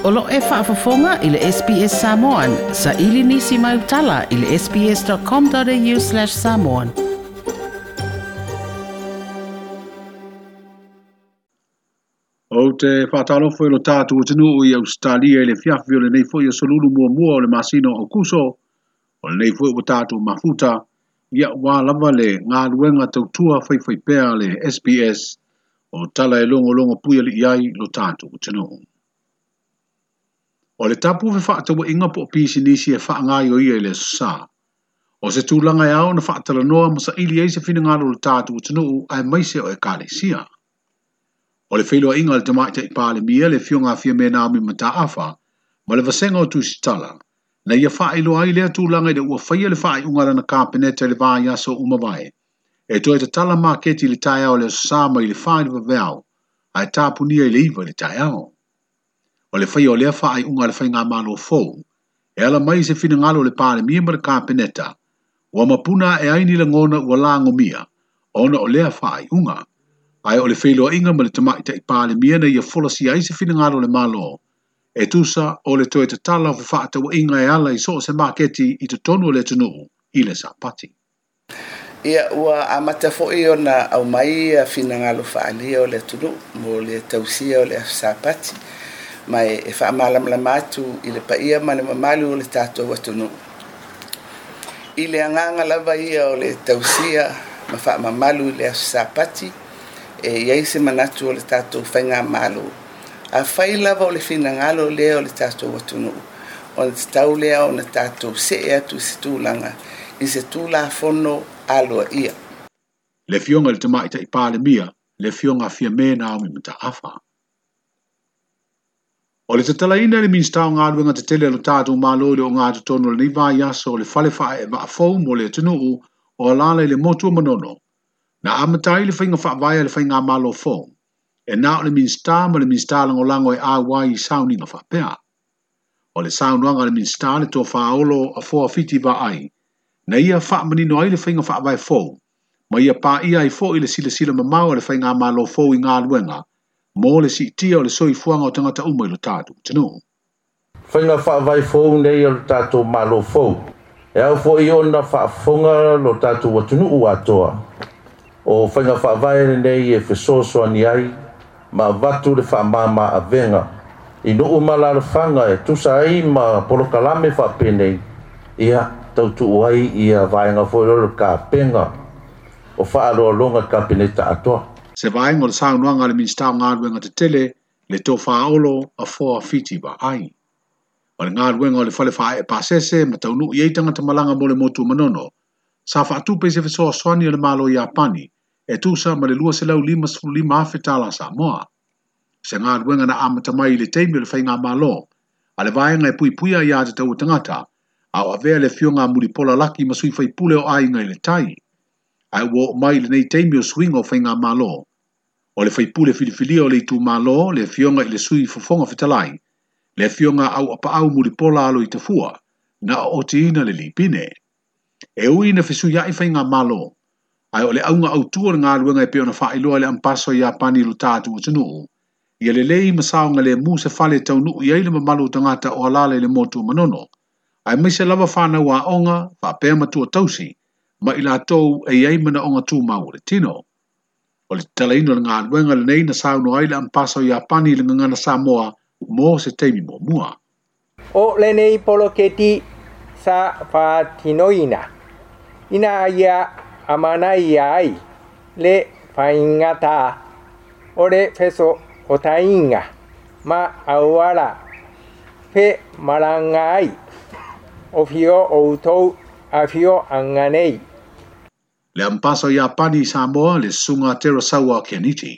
Olo e whaafafonga i le SBS Samoan. Sa ili nisi mai utala i le sbs.com.au/samoan. O te whātalofo i lo tātu o tenu i Australia i le fiafi o le nei fwoi o solulu mua o le masino o kuso, o le nei fwoi o tātu mafuta, ia wā lava le ngā luenga tautua whaiwhaipea le SBS o tala e longo puia li iai lo tātu o tenu. O le tapu fe whaatawa inga po pisi nisi e whaangai o ia i le sa. O se tūlanga e au na whaatala noa masa ili eise whina ngalo lo tātu o tenu ai maise o e kāle sia. O le whailua inga le tamaita i pāle mia le fionga fia me Naomi Mataafa, ma le vasenga o tusitala, na ia wha ilo ai lea tūlanga i le ua whaia le wha i ungara na kāpeneta le vā yaso umawai, e toi te tala maketi le tai au le sāma i le wha i le vaveau, ai tāpunia i le iwa le tai au. O le whaia o lea wha i unga le whainga malo fōu, e ala mai se whina ngalo le pāle mia ma le kāpeneta, ua mapuna e aini le ngona ua lango mia, ona o lea wha i unga. Ai o le whailoa inga ma le tamaita i pāle mia na ia folasi ai se whina ngalo le malo. E tusa o le toe te tala o whaata wa inga e ala i so se maketi i te tonu o le tunu i le sapati. Ia ua amata fo'i o na au mai a whina ngalo whaalia o le tunu mo le tausia o le sapati. Mai e whaamalamlama atu i le paia ma le mamalu o le tātou wa tunu. I le anganga lava ia o le tausia ma whaamamalu i le sapati. E iai se manatu o le tātou whainga malo. A whai lava o le whina ngalo lea o le tātou watunu. O le tau lea o na tātou se e atu se tūlanga i se tūla whono aloa ia. Le fionga le tamaita i pāle mia, le fionga fia me Naomi Mataafa. O le tatalaina le minstau ngā ruenga te tele lo tātou malo le o ngā tutono le niva yaso o le whale whae e waafou mo le tunuu o alala i le motua manono. Na amatai le whainga whaavaya le whainga malo fō. E nā o le minsta ma le minsta lango e āwai i sauninga whaapea. O le saunuanga le minsta le tō whaolo a fōa fiti wa ai. Na ia whaamanino ai le whainga whaavaya fō. Ma ia pā ia i fō i le sila mamau le whainga malo fō i ngā luenga. Mō le si tia o le soi fuanga o tangata umai lo tātu. Tino. Whainga whaavaya fō nei o le tātu malo fō. E au fō i ona whaafonga lo tātu watunu atoa. O whainga whaavaere nei e whesoso ani ai, ma watu le whaamama a venga. I no umala le whanga e tusa ai ma polokalame whaapenei, ia tautu uai ia vaenga whoeroro ka penga, o whaaroa longa ka peneta atoa. Se vaenga o le saunuanga le minstau ngā ruenga te tele, le tō whaolo a fōa fiti wa ai. O le ngā ruenga o le whale whae e pāsese, ma taunu i eitanga te malanga mo le motu manono, sa whaatupe se whesoa swani o le malo i Apani, e tusa ma le lua se lau 5 awhetala sa moa. Se ngā ruenga na amata mai le teimi o le whainga malo, a le vaenga e puipuia i a te tau tangata, au avea le fionga muripola laki ma sui whaipule o ai ngai le tai. Ai wo mai le nei teimi o swinga o whainga malo. O le whaipule filifilia o le itu malo, le fionga i le sui fofonga whetalai, le fionga au apa au muripola alo i te fua, na o te ina le lipine. E ui na whisui ai whainga malo, ai o le aunga au tua ngā ruenga e peo na whaailoa le ampaso i Apani lo tātu o tunu. Ia le lei masaonga le mu se whale tau nuu i eile mamalu tangata o alale le motu manono. Ai mai se lava whana wa onga, whaapea matua tausi, ma ila tau e iei mana onga tū mau le tino. O le talaino le ngā ruenga le nei na sauno ai le ampaso i Apani le ngana Samoa mo se teimi mo mua. O le nei polo keti sa whaatinoina. Ina ia amana iai le whaingata o le wheso o tainga ma auara pe marangai o fio o utou a fio anganei. Le ampaso i Apani Samoa le sunga Terasawa Keniti.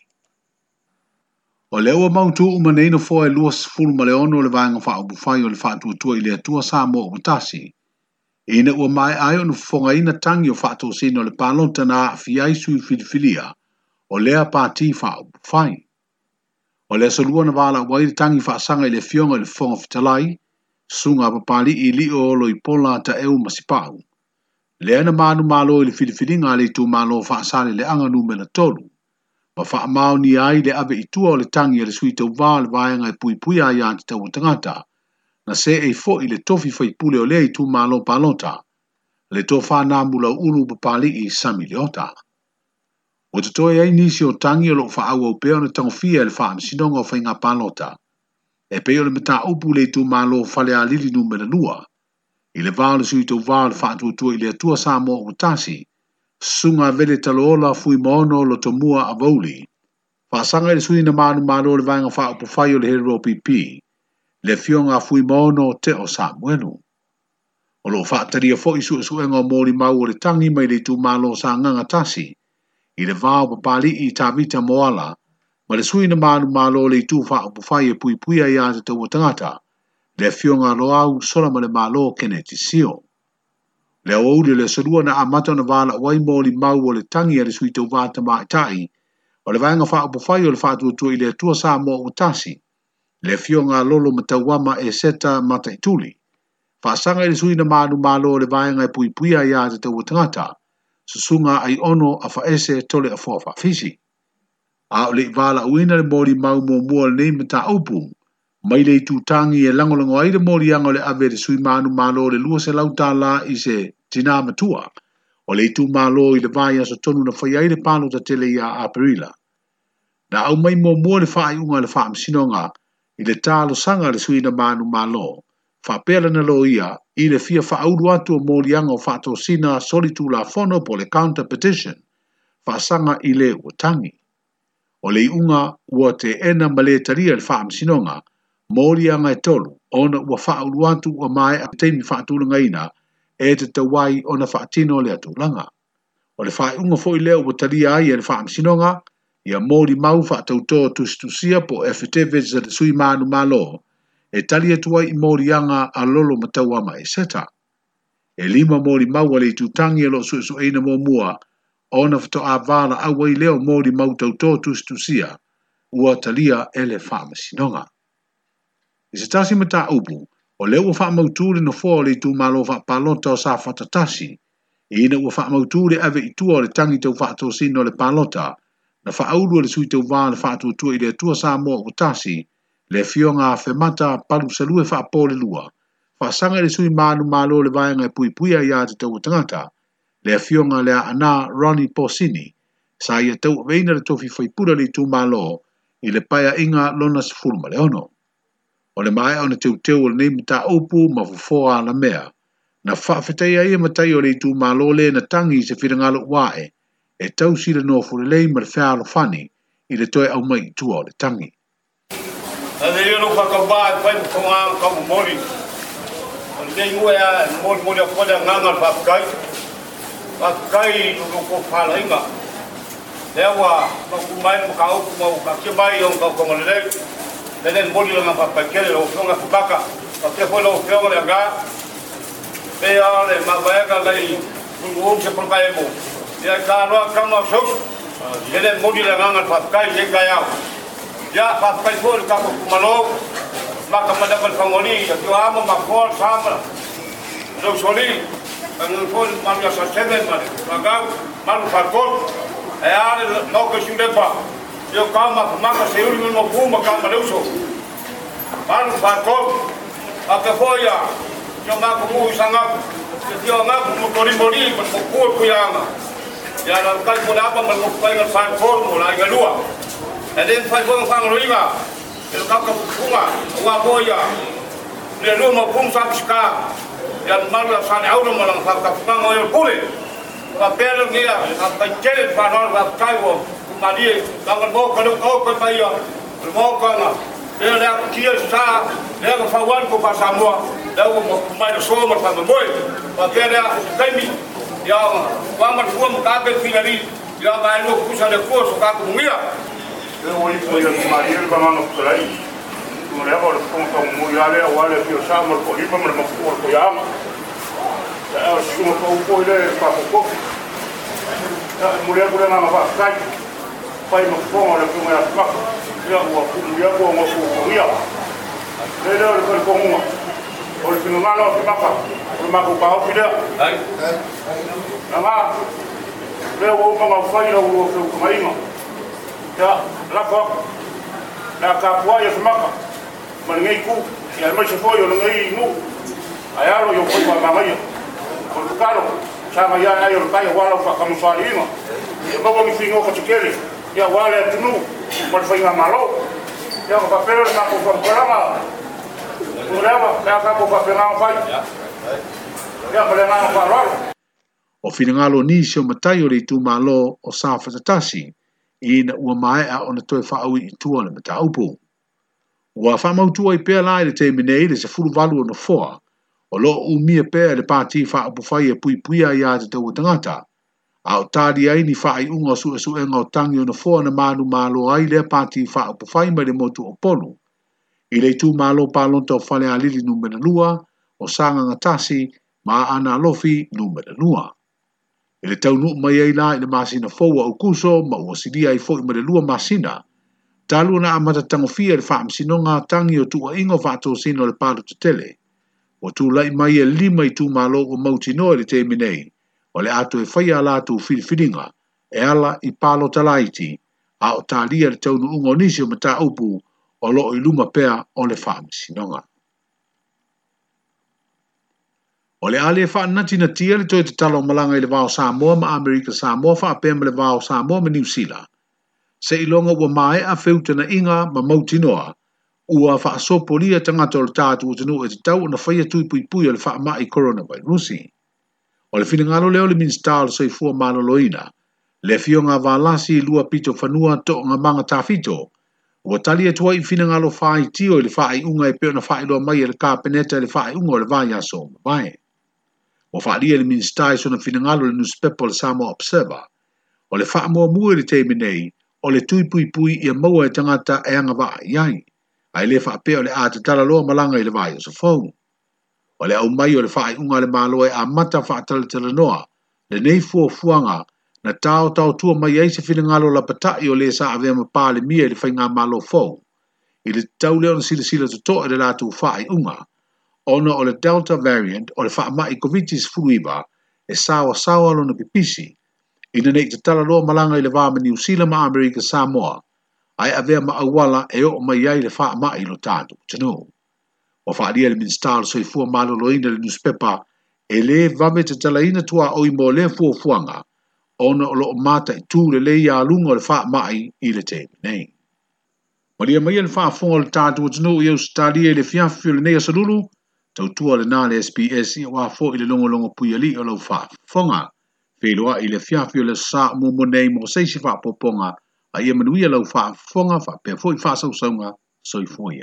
O le ua mautu umaneino fo e luas fulu ma le ono le vaenga wha ubufai o le wha tuatua i le atua Samoa umutasi. Ina ua mai ai onu fonga ina tangi o whaato sino le palonta na fiai sui filifilia o lea pāti wha ubufai. O lea solua na wala wai tangi whaasanga i le fionga i le fonga fitalai, sunga papali i li o lo i pola ta eu masipau. Lea na manu malo i le filifilinga le tu malo whaasale le anga numela tolu. Ma whaamau ni ai le ave itua o le tangi le sui tau wā le vaenga e pui pui a ia te tau tangata, na se e fo i le tofi fai pule o le i tu malo palota, le to whanā mula ulu papali i sami leota. O te toi ai nisi o tangi o lo whaau au peo na tango fia le whaam sinonga o whainga palota, e peo le mata upu le tu malo fale a lili numera lua, i le vāle sui tau vāle whaatua tua i le atua sa mo o tasi, sunga vele taloola fui maono lo tomua a vauli, whaasanga i le sui na manu malo le vaenga whaau pufai o le hero pipi, le fionga fui maono te o sa muenu. O lo whaataria fo isu suenga o mori mau o le tangi mai le tu malo sa nganga tasi, i le vāo papali i tawita moala, ma le sui na manu malo le tu whaau pufai e pui pui a ia te tau tangata, le fionga loau sola ma le malo kene ti sio. Le auli le sarua na amata na vala wai moli mau o le tangi a le sui tau vata mai tai, o le vaenga whaau pufai o le whaatua tua i le atua sa mo o tasi, le fionga lolo matawama e seta mata ituli. Whaasanga i le sui na manu malo le vaenga e pui pui a ia te tau tangata, susunga ai ono a whaese tole a fua whaafisi. A o le vala uina le moli mau mo mua le nei mata upu, mai le tu tangi e langolango ai le mori anga le ave le sui manu malo le lua se lauta la i se tina matua, o le tu malo i le vai aso tonu na whai ai le palo ta tele ia a perila. Na au mai mo mua le whai unga le whaam sinonga i le talo sanga le sui na manu malo, whapela na lo ia i le fia whauru atu o mori anga o whato sina solitu la fono po le counter petition, whaasanga i le uatangi. O le unga ua te ena male taria le whaam sinonga, mori anga e tolu, ona ua whauru atu o mai a teimi whaatulanga ina, e te tawai ona whaatino le atulanga. O le whae unga fo i leo ua taria ai e le whaam sinonga, ia mori mau whaatautoa tustusia po affidavits at sui manu malo, e tali atuai i mori anga a lolo matawama e seta. E lima mori mau ale tutangi e lo su eina mo mua, ona fito a vala awai leo mori mau tautoa tustusia, ua talia ele whaama sinonga. I se tasi mata upu, o leo ua whaamauturi no fō le tu malo whaapalota o sa whatatasi, i ina ua whaamauturi ave i tua o le tangi tau whaato sino le palota, na whaauru le sui tau vā le whaatua tua i le tua sa moa o tasi, le fionga a whemata palu salue whaapole lua, whaasanga le sui manu malo le vaenga e pui pui a ia te tau tangata, le fionga le a ana Ronnie Porsini, sa ia tau veina le tofi whaipura le tu malo, i le paia inga lona sifuruma le ono. O le mai o na teu o le nei mta upu ma fufoa la mea, na whaafetai ia matai o le tu malo le na tangi se whirangalo wae, e tau sila no furelei ma le whialo whani, i le toe au mai tua o le tangi. A le ilo whakawā e whai mkonga kamu mori. O le nei ue a mori a whale nganga le whapkai. Whapkai nuko whala inga. Le awa, makumai na maka upu mau ka kibai o mka kongalelei. Le nei mori la ngā whapkai kere o whionga whukaka. O te whole o whionga le ngā. Le a le mawaega lei ungu se polkai mo. Le ka roa kama o sosu. Le nei mori la nganga le whapkai le kai au. Ya papai pun kamu kumalo, maka mendapat pengoni, itu ama makol sama, lo soli, pun manusia sahaja maka malu fakol, ayah mau kesudah pak, yo kamu maka seuri mau kuma kamu maluso, malu fakol, apa foya, yo maku mu sangat, yo maku mu mori berpukul kuyama, ya kalau pun apa berpukul dengan fakol mulai kedua. Dan fai fong fang roiga, el kaka punga, wa boya, le roma pung sakska, yang malu sani aulo malang kaka punga oil pule, wa pelo ngia, apa jelet panor wa kaiwo, kumadi, langan bo kalau kau kepaya, mo kana, le le kia sa, le ka fawan ko pasamua, le mo mai so mo pa moi, wa pelo kaimi, ya wa ma fuam ka pe finali, ya mai no kusa le ko so ka kumia. Eu isso eu Maria ele vai no play no levo o ponto mulher o ale que o chama o riba mas não for o yama eu chamo o ele para o copo a mulher por lá na vai vai no pão ele como é papo eu o mulher com o ia ele ele com o que não lá no papo o mago pau filha ai lá eu vou para o faio o marinho Ya, lako. Na kapua ya semaka. Manengai ku, ya mai se foi o ngai nu. Ayalo yo foi pa mamaya. Por caro, sama ya ayo kai wala fa kamu salima. Ya babo mi fingo ko tikele. Ya wala tunu, por foi malo. Ya ko papel na ko programa. Programa, ya ka ko papel na fai. Ya ko na ko rolo. O finangalo nisi o matai o le tu malo o sa fatatasi ina ua mai a ona toe whaaui i tua le mataupu. Ua whamautua i pēr lai le te minei le se furu valu o na foa o lo umia pēr le pāti whaapu whai e pui pui a ia te tau tangata. A o tādi ai ni whaai unga su e su enga o tangi o na foa na manu malo ai le pāti whaapu whai mai le motu o polu. I le tu malo pālonta o whale a lili numera lua o sanga ngatasi ma ana lofi numera lua. I le tau nuu mai eila i le masina foua o kuso ma ua sidia i fo i mare lua masina. Talu na amata tangofia le whaamsinonga tangi o tua ingo whaato sino le pālu te tele. O tu lai mai e lima i tu malo o mautino i le te minei. O le ato e whaia la tu whiriwhiringa e ala i palo talaiti a o tālia le tau nuunga o nisi o mata upu o lo i luma pea o le whaamsinonga. O le ale wha nati na tia le toi te talo malanga i le vao Samoa ma Amerika Samoa wha apema le vao Samoa ma New Zealand. Se ilonga ua mae a wheuta na inga ma mautinoa, ua wha asopolia tangata o le tātu o tanu e te tau na whaia tui pui pui o le wha mai coronavirusi. O le whingalo leo le minstao le soifua maloloina, le fionga valasi lua pito whanua to ngā manga tāwhito, ua tali atua i whingalo whai tio i le whai unga e peo na whai loa mai e le kāpeneta le whai unga o le vai aso mai. O whaalia le minstai sona finangalo le newspaper le Samoa Observer. O le wha mua mua le teimi nei, o le tui pui pui ia maua e tangata e anga waa iai. Ai le wha peo le ata tala loa malanga i le vai o sa fau. O le au mai o le wha unga le malo e a mata wha tala tala noa, le nei fua fuanga, na tau tua mai eise finangalo la patai o le sa avea mapa le mia le whainga malo fau. I le tau leo na sila to toa le latu wha unga. Ona o le Delta variant o le whaamai covitis furuiva e sawa lo na pipisi. Ina nei te tala loa malanga i le vāma New Zealand ma Amerika Samoa. Ai avea maawala e o mai ai le whaamai lo tātu. Tano. O whaalia le minstalo soifua maloloina le newspaper e le vame te tala ina tua o i mo le fuafuanga. Ona o lo mata i tū le leia alunga o le whaamai i le te nei. Maria mai le whaafonga le tātu o tano i au stadia le fiafio le nea salulu. Tau tua le nā le SPS i wā fo i le longo pui ali o lau wha fonga. Wheloa i le fiafio le sa mo nei mo seisi wha poponga a ia manuia lau wha fonga wha pia fo i wha sausaunga soi foia.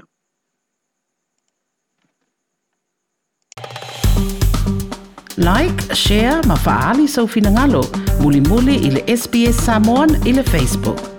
Like, share, ma faali sau finangalo. Muli muli i le SPS Samoan i le Facebook.